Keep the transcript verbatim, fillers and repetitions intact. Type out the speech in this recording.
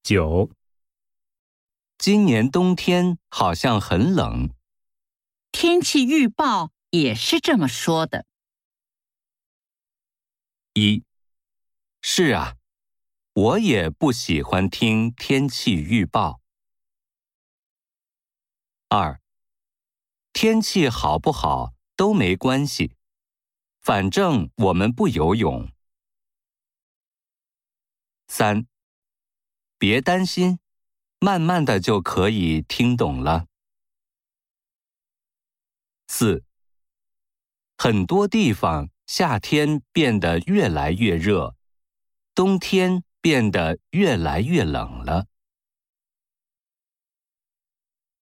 九，今年冬天好像很冷。 天气预报也是这么说的。 一，是啊，我也不喜欢听天气预报。二，天气好不好都没关系，反正我们不游泳。三，别担心，慢慢的就可以听懂了。四，很多地方夏天变得越来越热，冬天变得越来越冷了。